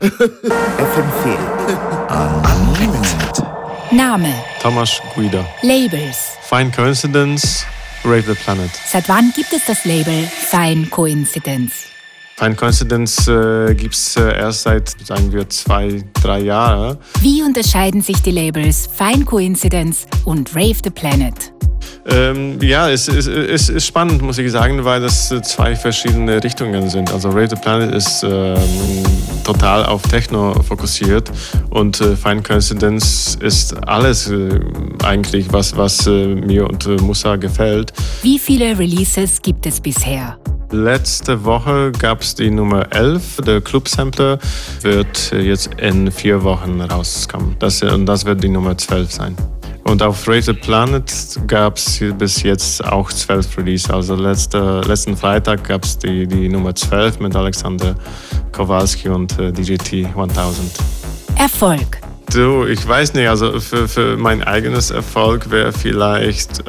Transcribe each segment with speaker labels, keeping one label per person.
Speaker 1: FM4 Unlimited.
Speaker 2: Name.
Speaker 3: Tomasz Guida.
Speaker 2: Labels.
Speaker 3: Fine Coincidence, Rave the Planet.
Speaker 2: Seit wann gibt es das Label Fine Coincidence?
Speaker 3: Fine Coincidence gibt es erst seit, sagen wir, 2-3 Jahren.
Speaker 2: Wie unterscheiden sich die Labels Fine Coincidence und Rave the Planet?
Speaker 3: Es ist spannend, muss ich sagen, weil das zwei verschiedene Richtungen sind. Also Rave the Planet ist total auf Techno fokussiert und Fine Coincidence ist alles eigentlich, was mir und Musa gefällt.
Speaker 2: Wie viele Releases gibt es bisher?
Speaker 3: Letzte Woche gab es die Nummer 11. Der Club Sampler wird jetzt in 4 Wochen rauskommen. Das wird die Nummer 12 sein. Und auf Rave the Planet gab es bis jetzt auch 12 Releases. Also letzten Freitag gab es die Nummer 12 mit Alexander Kowalski und DJT 1000.
Speaker 2: Erfolg.
Speaker 3: Du, ich weiß nicht, also für mein eigenes Erfolg wäre vielleicht,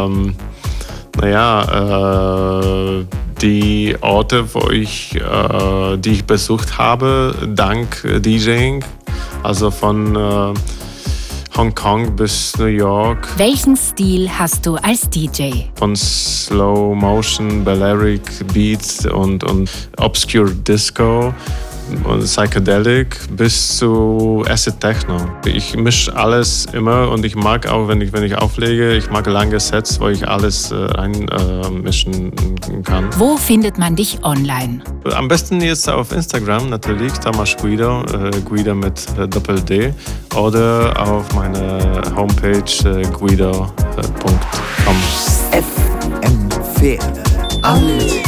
Speaker 3: die Orte, die ich besucht habe, dank DJing, also von Hongkong bis New York.
Speaker 2: Welchen Stil hast du als DJ?
Speaker 3: Von Slow Motion, Balearic Beats und Obscure Disco und Psychedelic bis zu Acid Techno. Ich mische alles immer und ich mag auch, wenn ich auflege, ich mag lange Sets, wo ich alles reinmischen kann.
Speaker 2: Wo findet man dich online?
Speaker 3: Am besten jetzt auf Instagram natürlich, Tomasz Guida, Guida mit Doppel-D, oder auf meiner Homepage guida.com.
Speaker 1: FM4 Unlimited.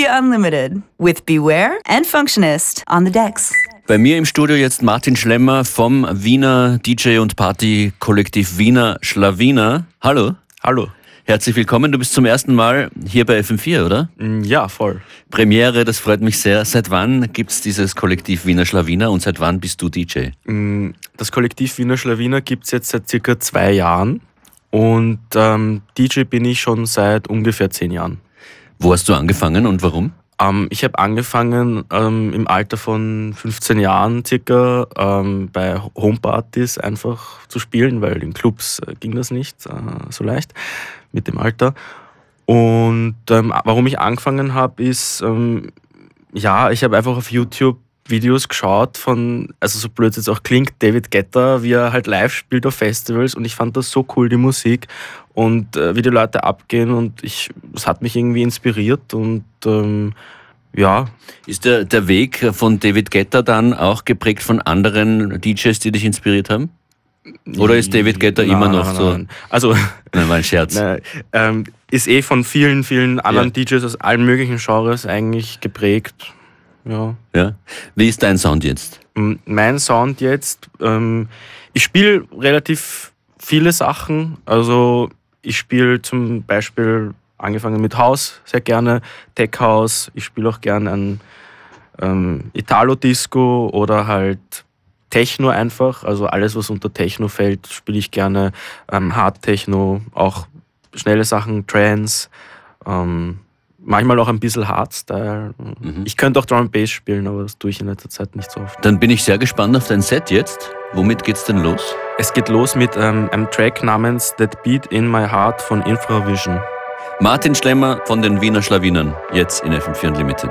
Speaker 4: Unlimited with Beware and Functionist on the decks.
Speaker 5: Bei mir im Studio jetzt Martin Schlemmer vom Wiener DJ- und Party-Kollektiv Wiener Schlawiner. Hallo.
Speaker 6: Hallo.
Speaker 5: Herzlich willkommen. Du bist zum ersten Mal hier bei FM4, oder?
Speaker 6: Ja, voll.
Speaker 5: Premiere, das freut mich sehr. Seit wann gibt es dieses Kollektiv Wiener Schlawiner und seit wann bist du DJ?
Speaker 6: Das Kollektiv Wiener Schlawiner gibt es jetzt seit circa 2 Jahren und DJ bin ich schon seit ungefähr 10 Jahren.
Speaker 5: Wo hast du angefangen und warum?
Speaker 6: Ich habe angefangen im Alter von 15 Jahren circa bei Homepartys einfach zu spielen, weil in Clubs ging das nicht so leicht mit dem Alter. Und warum ich angefangen habe, ist, ich habe einfach auf YouTube Videos geschaut von, also so blöd es jetzt auch klingt, David Guetta, wie er halt live spielt auf Festivals, und ich fand das so cool, die Musik und wie die Leute abgehen, und das hat mich irgendwie inspiriert und
Speaker 5: Ist der Weg von David Guetta dann auch geprägt von anderen DJs, die dich inspiriert haben? Oder ist David Guetta immer noch so?
Speaker 6: Nein. Also,
Speaker 5: Nein, war ein Scherz.
Speaker 6: Ist von vielen, vielen anderen DJs aus allen möglichen Genres eigentlich geprägt. Ja.
Speaker 5: Wie ist dein Sound jetzt?
Speaker 6: Mein Sound jetzt, ich spiele relativ viele Sachen. Also ich spiele zum Beispiel, angefangen mit House sehr gerne, Tech House. Ich spiele auch gerne an Italo-Disco oder halt Techno einfach. Also alles, was unter Techno fällt, spiele ich gerne. Hard Techno, auch schnelle Sachen, Trance, manchmal auch ein bisschen Hardstyle. Ich könnte auch Drum and Bass spielen, aber das tue ich in letzter Zeit nicht so oft.
Speaker 5: Dann bin ich sehr gespannt auf dein Set jetzt. Womit geht's denn los?
Speaker 6: Es geht los mit einem Track namens That Beat in My Heart von Infravision.
Speaker 5: Martin Schlemmer von den Wiener Schlawinern, jetzt in FM4 Unlimited.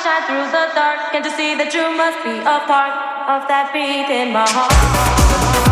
Speaker 7: shine through the dark. Can't you see that you must be a part of that beat in my heart?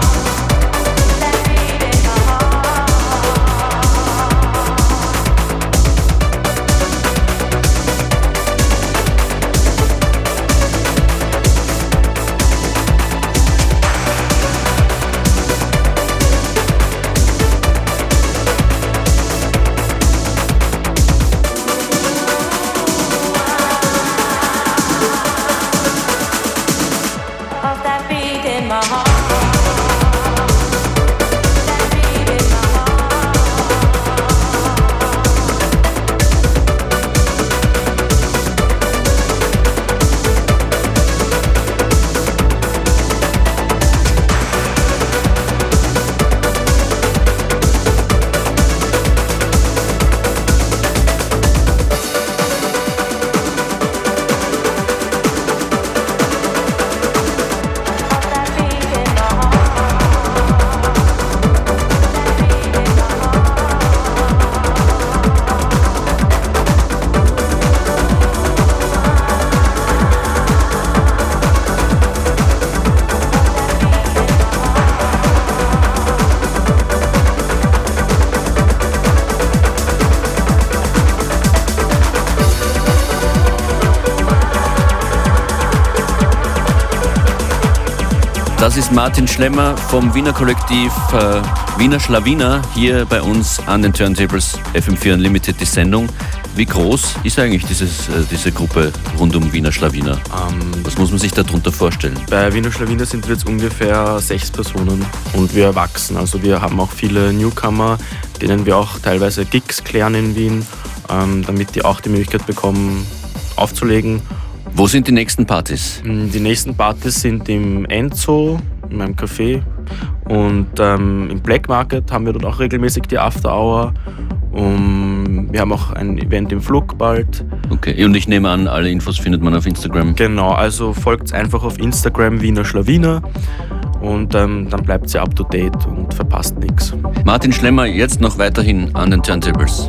Speaker 5: Das ist Martin Schlemmer vom Wiener Kollektiv Wiener Schlawiner hier bei uns an den Turntables FM4 Unlimited, die Sendung. Wie groß ist eigentlich diese Gruppe rund um Wiener Schlawiner? Was muss man sich darunter vorstellen?
Speaker 6: Bei Wiener Schlawiner sind wir jetzt ungefähr 6 Personen und wir wachsen. Also wir haben auch viele Newcomer, denen wir auch teilweise Gigs klären in Wien, damit die auch die Möglichkeit bekommen, aufzulegen.
Speaker 5: Wo sind die nächsten Partys?
Speaker 6: Die nächsten Partys sind im Enzo, in meinem Café, und im Black Market haben wir dort auch regelmäßig die After Hour. Wir haben auch ein Event im Flug bald.
Speaker 5: Okay, und ich nehme an, alle Infos findet man auf Instagram.
Speaker 6: Genau, also folgt einfach auf Instagram Wiener Schlawiner und dann bleibt ihr up to date und verpasst nichts.
Speaker 5: Martin Schlemmer jetzt noch weiterhin an den Turntables.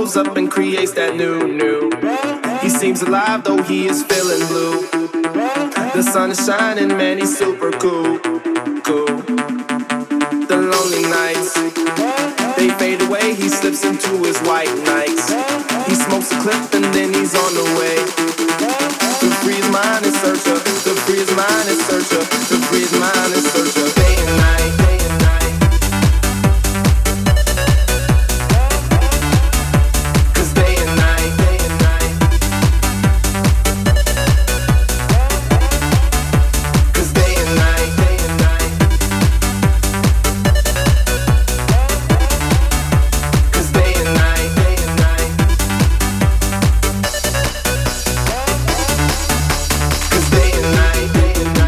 Speaker 8: shows up and creates that new. He seems alive though he is feeling blue. The sun is shining, man, he's super cool. The lonely nights, they fade away, he slips into his white nights. He smokes a clip and then he's on the way. To free his mind and search her, to free his mind and search her, to free his mind and search her. Day and night, day and night. 'Cause day and night, day and night. 'Cause day and night, day and night. 'Cause day and night, day and night. 'Cause day and night, day and night.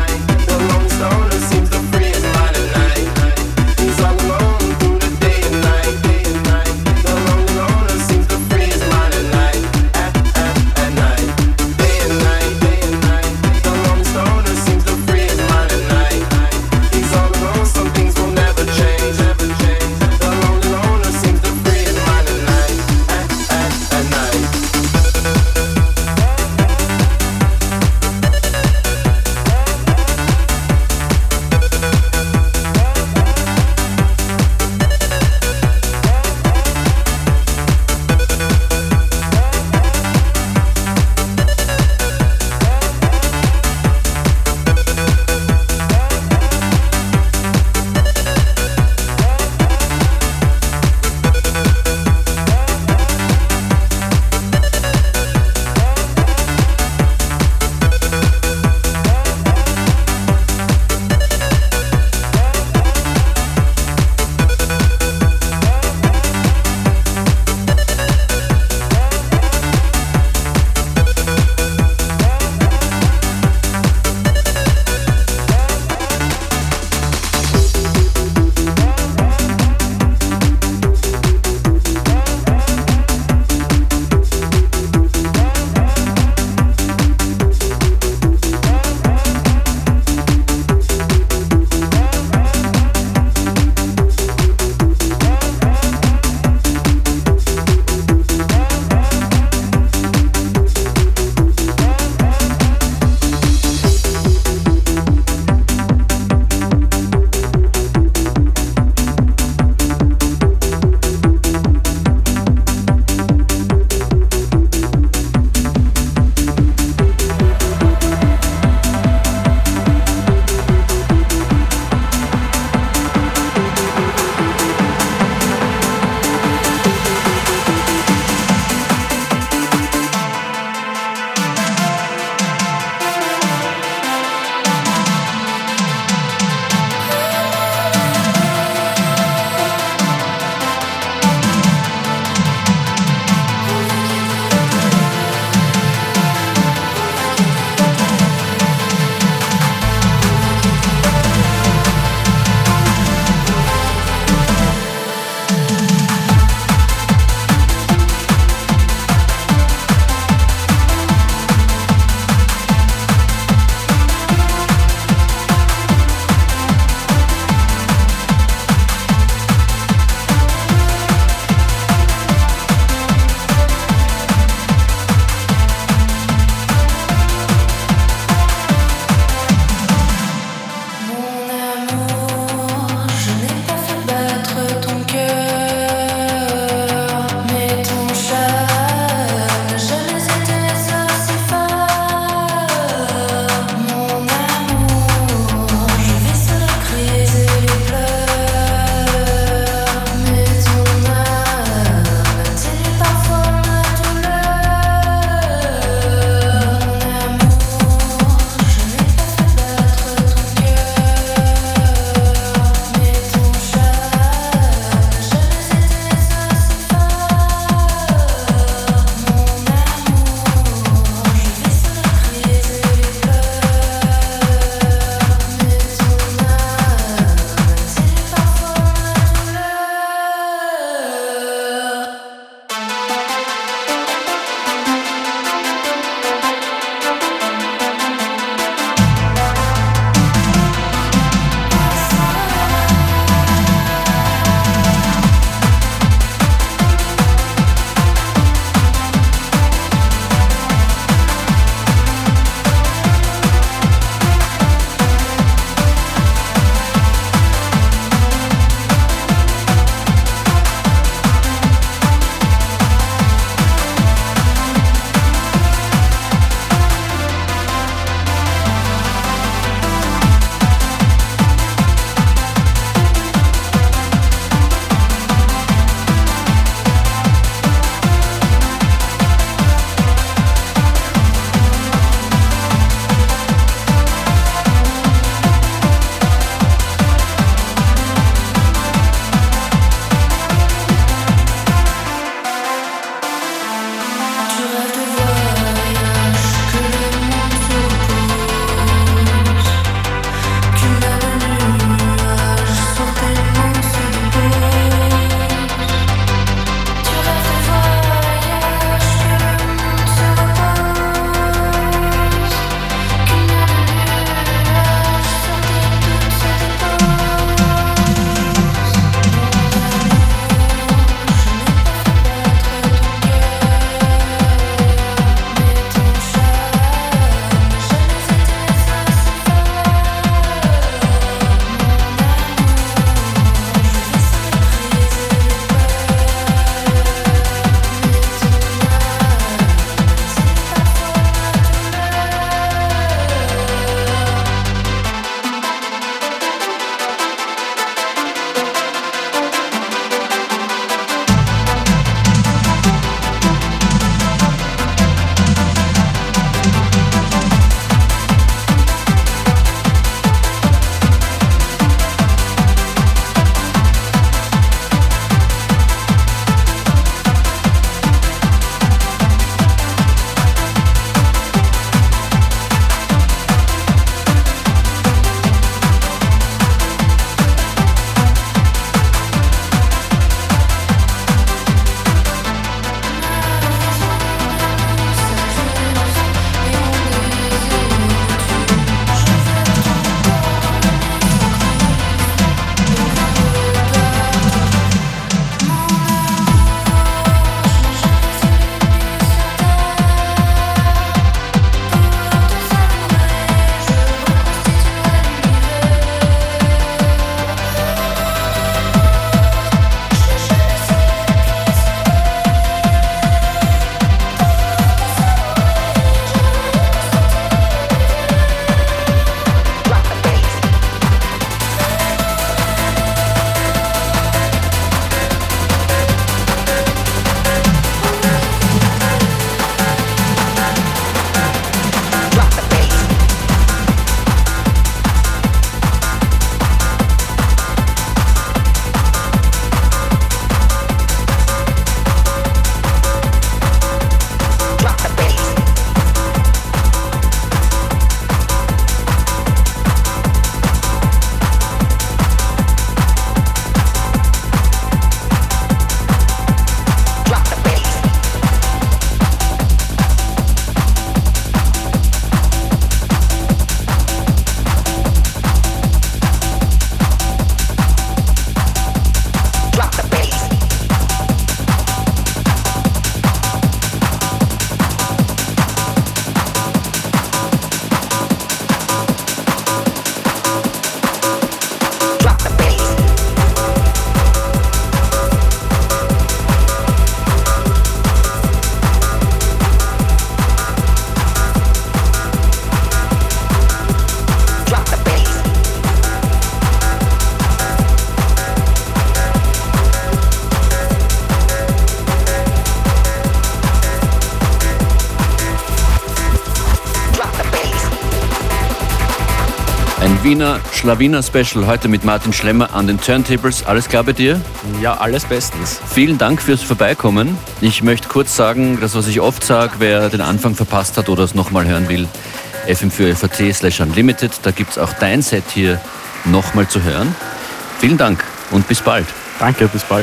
Speaker 5: Wiener Schlawiner Special heute mit Martin Schlemmer an den Turntables. Alles klar bei dir?
Speaker 6: Ja, alles bestens.
Speaker 5: Vielen Dank fürs Vorbeikommen. Ich möchte kurz sagen, das, was ich oft sage, wer den Anfang verpasst hat oder es nochmal hören will, fm4fat/unlimited, da gibt es auch dein Set hier nochmal zu hören. Vielen Dank und bis bald.
Speaker 6: Danke, bis bald.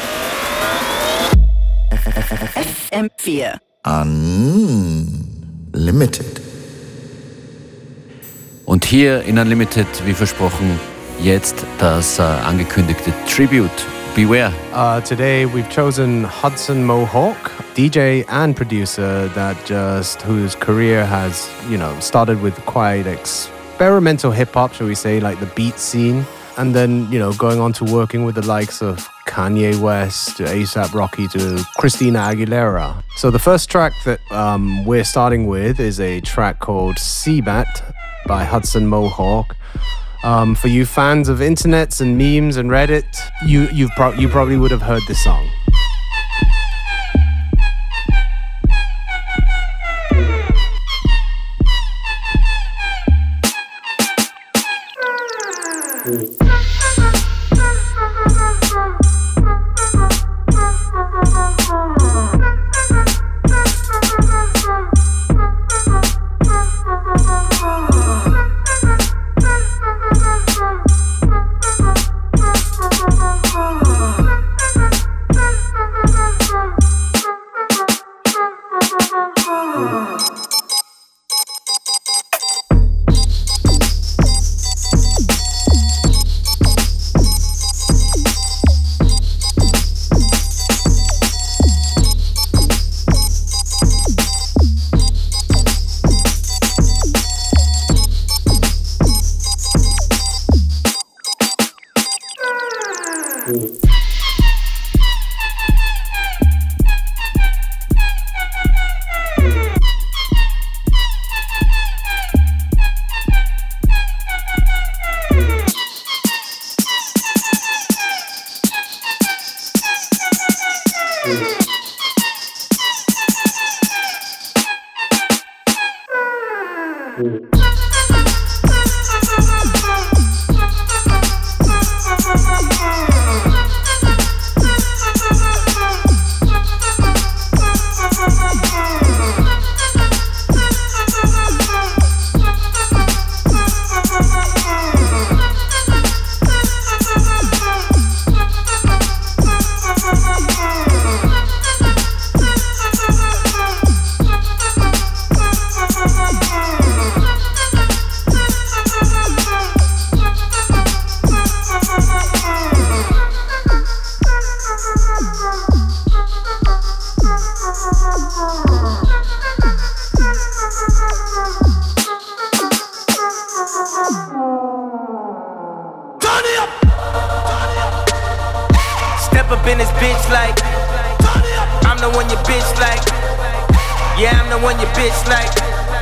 Speaker 4: FM4
Speaker 1: Unlimited.
Speaker 5: Und hier in Unlimited, wie versprochen, jetzt das angekündigte Tribute. Beware.
Speaker 9: Today we've chosen Hudson Mohawk, DJ and producer whose career has, started with quite experimental hip-hop, shall we say, like the beat scene, and then, going on to working with the likes of Kanye West, to A$AP Rocky, to Christina Aguilera. So the first track that we're starting with is a track called Seabat by Hudson Mohawk. For you fans of internets and memes and Reddit, you probably would have heard this song.
Speaker 8: Step up in this bitch like I'm the one your bitch like. Yeah, I'm the one your bitch like.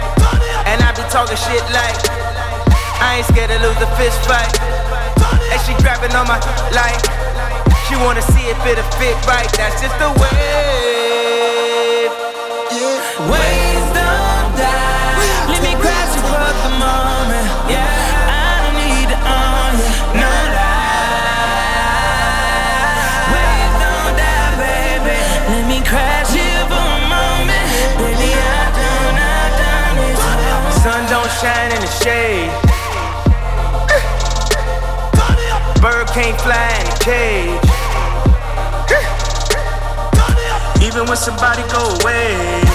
Speaker 8: And I be talking shit like I ain't scared to lose the fist fight. And she grabbing on my like she wanna see if it'll fit right. That's just the wave. Waves don't die. Let me crash you for the moment. Yeah, I don't need to own you. No lie. Waves don't die, baby. Let me crash you for a moment. Baby, I don't need to. Sun don't shine in the shade. Bird can't fly in a cage. Even when somebody go away,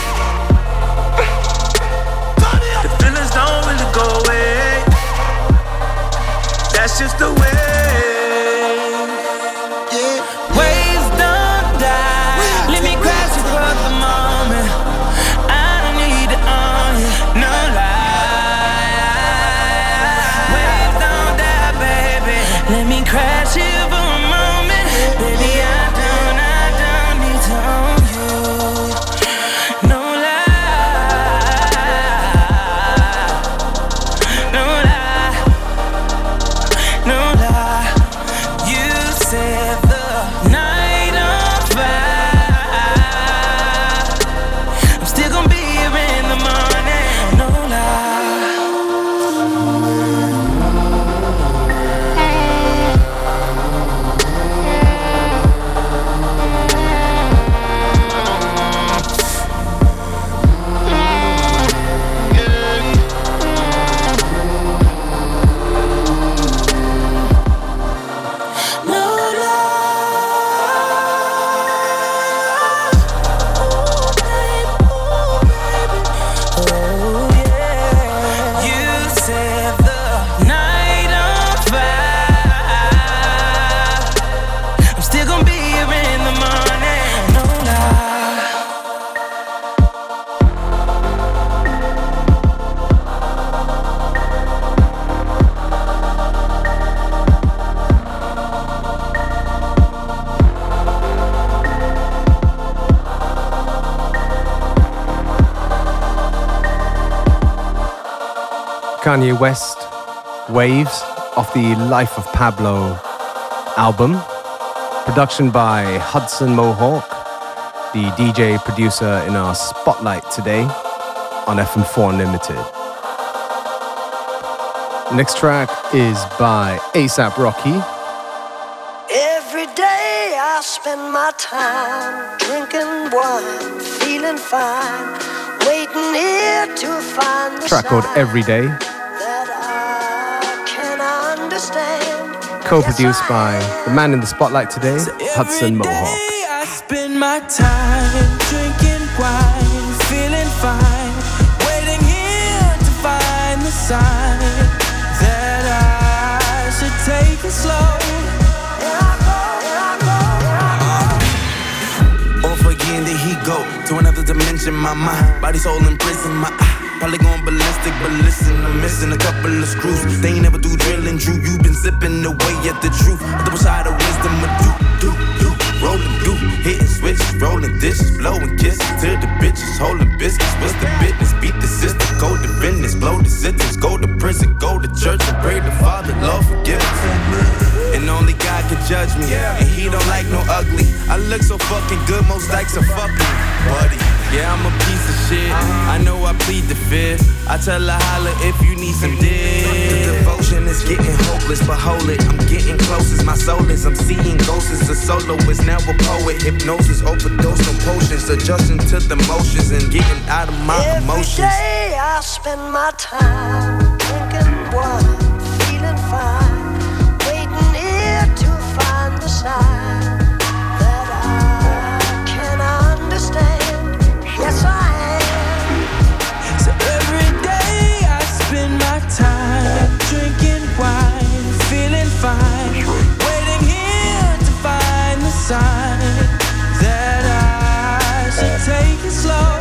Speaker 8: the feelings don't really go away. That's just the way. Waves don't die. Let me crash you for the moment. I don't need to own you, no lie. Waves don't die, baby. Let me crash you for a moment. Baby, I don't need to own you, no lie. No lie, no lie.
Speaker 9: Kanye West, Waves, off the Life of Pablo album. Production by Hudson Mohawk, the DJ producer in our spotlight today on FM4 Unlimited. Next track is by A$AP Rocky.
Speaker 10: Every day I spend my time drinking wine, feeling fine, waiting here to find the
Speaker 9: Track called Every Day.
Speaker 10: that I can understand.
Speaker 9: Co-produced by the man in the spotlight today, Hudson Mohawk.
Speaker 8: I spend my time drinking wine, feeling fine, waiting here to find the sign that I should take it slow. Off again, there he go to another dimension. My mind, body, soul in prison. My eye, probably going ballistic, but listen, I'm missing a couple of screws. They ain't never do drilling, Drew. You been zipping away at the truth. The double side of wisdom, a do. Rolling do, hitting switches, rolling dishes, blowing kisses to the bitches, holding biscuits. What's the business? Beat the system, go to business, blow the sentence, go to prison, go to church and pray the Father, Lord forgive us. And only God can judge me, and He don't like no ugly. I look so fucking good, most dykes are fucking buddy. Yeah, I'm a piece of shit. I know I plead the fifth. I tell her holla if you need some dick. The devotion is getting hopeless, but hold it, I'm getting close as my soul is. I'm seeing ghosts as a soloist, now a poet. Hypnosis, overdose on potions, adjusting to the motions and getting out of my emotions.
Speaker 10: Every day I spend my time drinking wine, feeling fine, waiting here to find the sign that I can understand. Yes, I am.
Speaker 8: So every day I spend my time drinking wine, feeling fine, waiting here to find the sign that I should take it slow.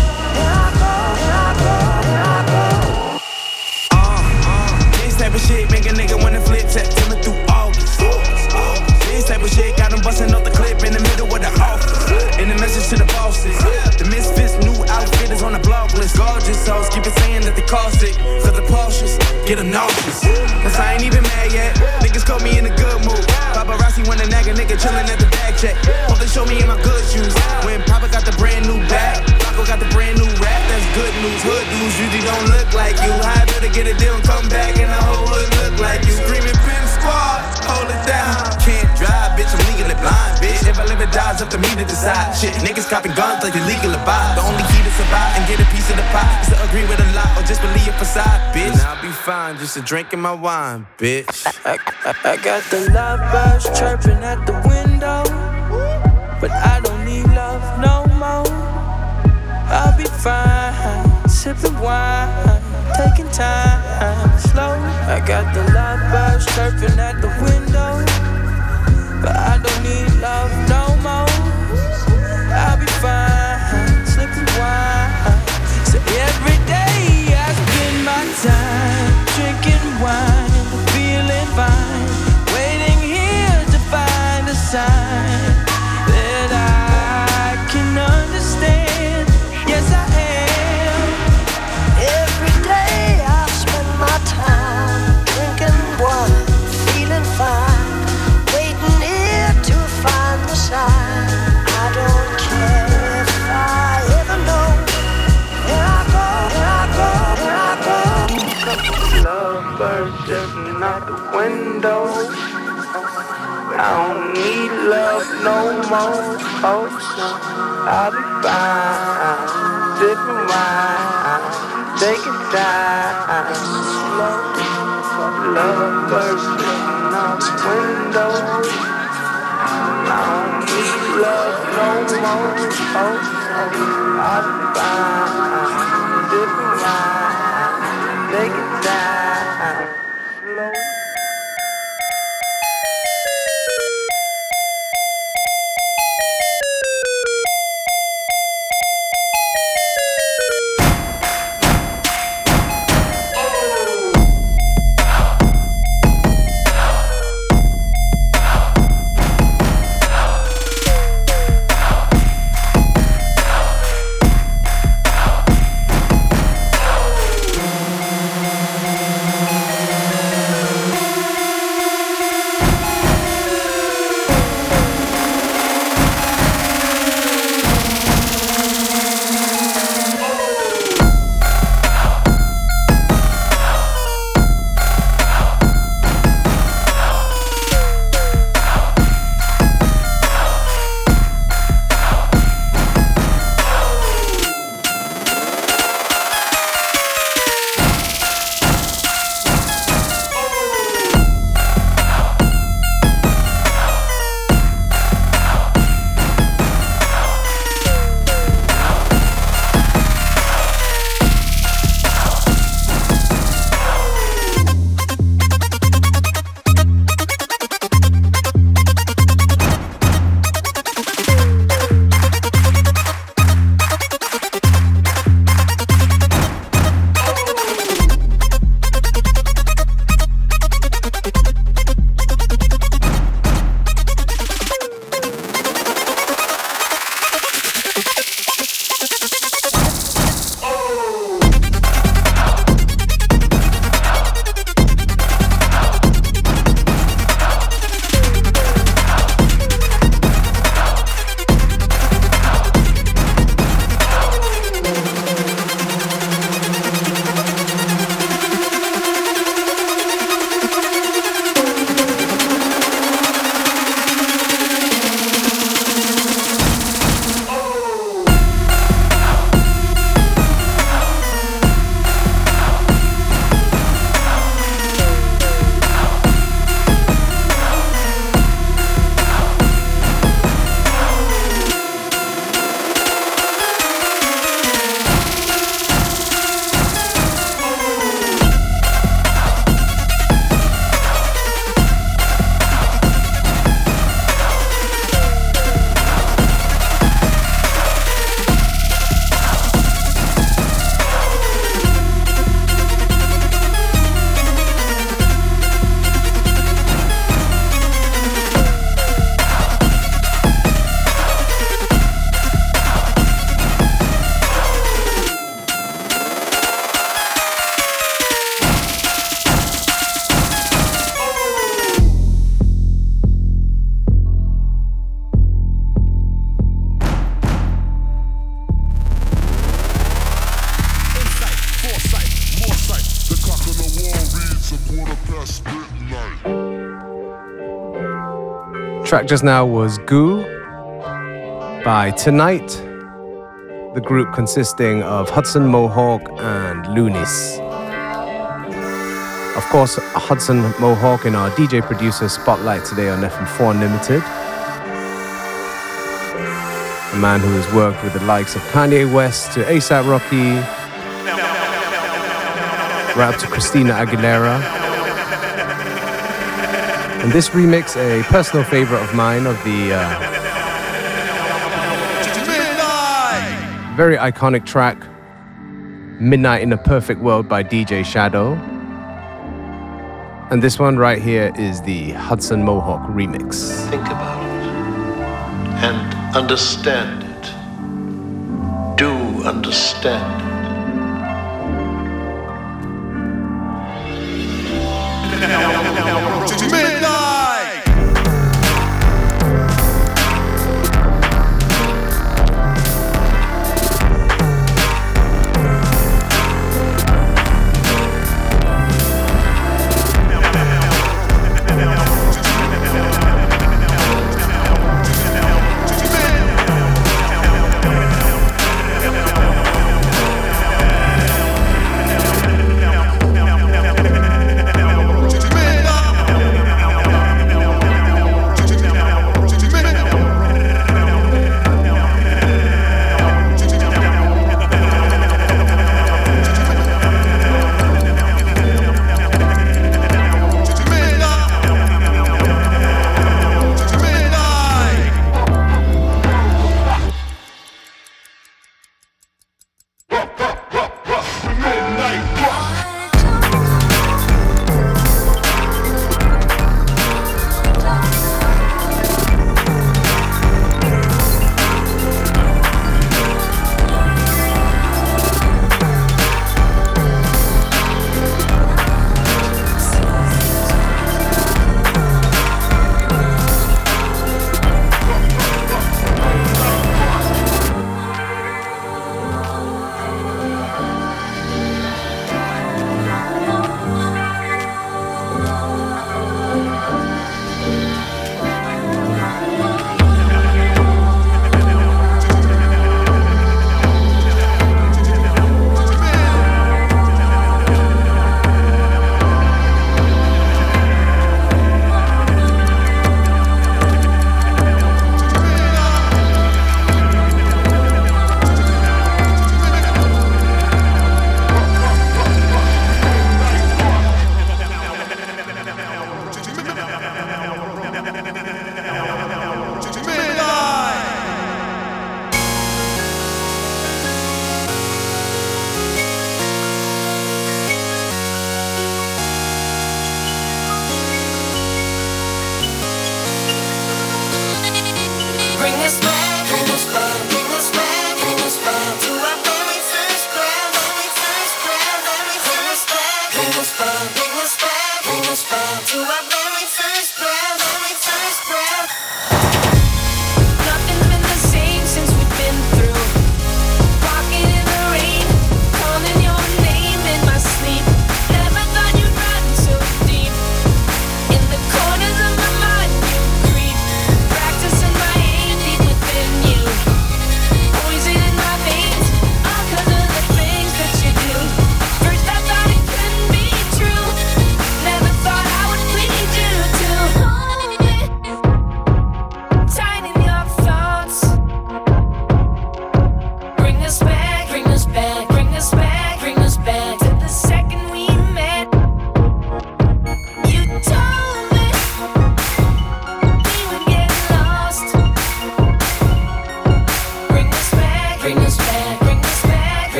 Speaker 8: This type of shit make a nigga wanna flip September through August. This type of shit got him busting off the clip in the middle of the office. And the message to the bosses, the misfits new outfit is on the blog list. Gorgeous hoes keep it saying that they cost it, cause the Porsches get them nauseous. Cause I ain't even mad yet, niggas caught me in a good mood. Paparazzi wanna nag a nigga chillin' at the bag check. Hope they show me in my good shoes. When Papa got the brand new bag, Paco got the brand new rap, that's good news. Hood dudes usually don't look like you. I better get a deal and come back and the whole hood look like you. Screaming Pimp Squad, hold it down. Can't drive, bitch, I'm legally blind, bitch. If I live or die, it's up to me to decide. Shit, niggas copping guns like illegal to buy. The only key to survive and get a piece of the pie is to agree with a lie or just believe a facade, bitch. And I'll be fine, just a drinking my wine, bitch. I got the lovebirds chirping at the window, but I don't need love no more. I'll be fine, sipping wine, taking time slow. I got the lovebirds chirping at the window, but I don't need love no more. I'll be fine, sipping wine. So every day I spend my time drinking wine, feeling fine, waiting here to find a sign that I can understand. Yes, I am.
Speaker 10: Every day I spend my time drinking wine, feeling fine, waiting here to find the sign. I don't care if I ever know where I go, where I go, where I go.
Speaker 8: Lovebirds jumping out the window. I don't need love no more. Oh, so I'll be fine, sipping wine, taking time slow. Lovebirds jumping out the window. I don't need love no more. Oh, so I'll be fine, sipping wine, taking time slow.
Speaker 9: Track just now was Goo by Tonight, the group consisting of Hudson Mohawke and Lunis. Of course, Hudson Mohawke in our DJ producer spotlight today on FM4 Unlimited. A man who has worked with the likes of Kanye West to A$AP Rocky, right up to Christina Aguilera. And this remix, a personal favorite of mine, of the very iconic track Midnight in a Perfect World by DJ Shadow. And this one right here is the Hudson Mohawke remix.
Speaker 11: Think about it and understand it. Do understand it.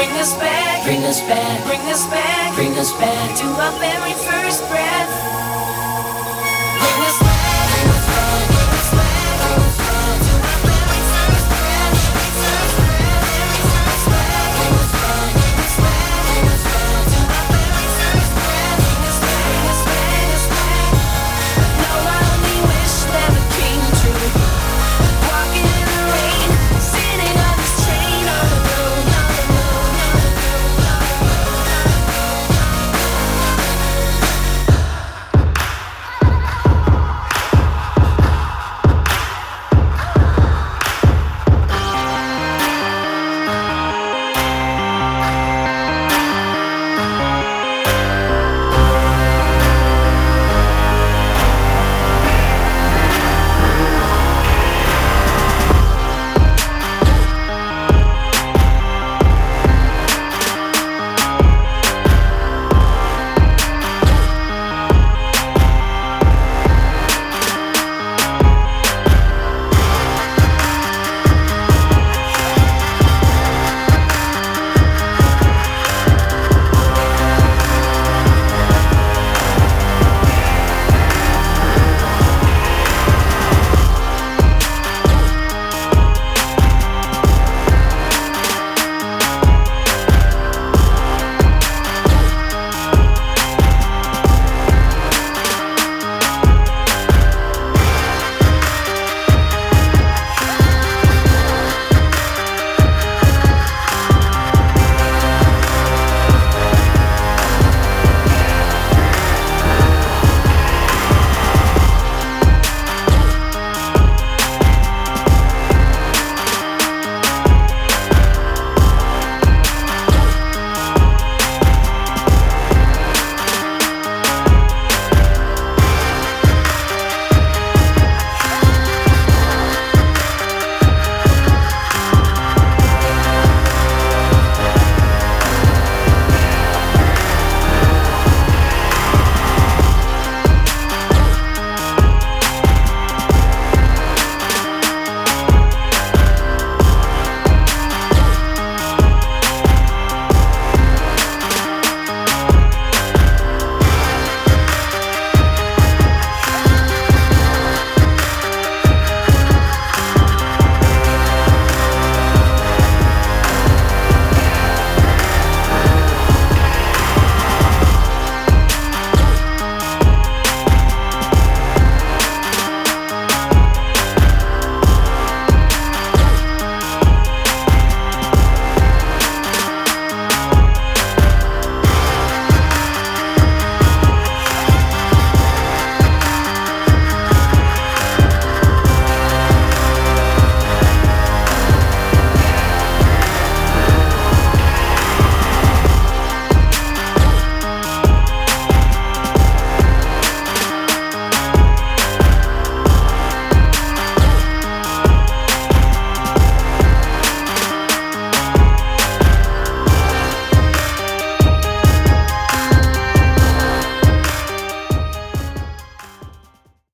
Speaker 12: bring us back, bring us back, bring us back, bring us back to our very first breath.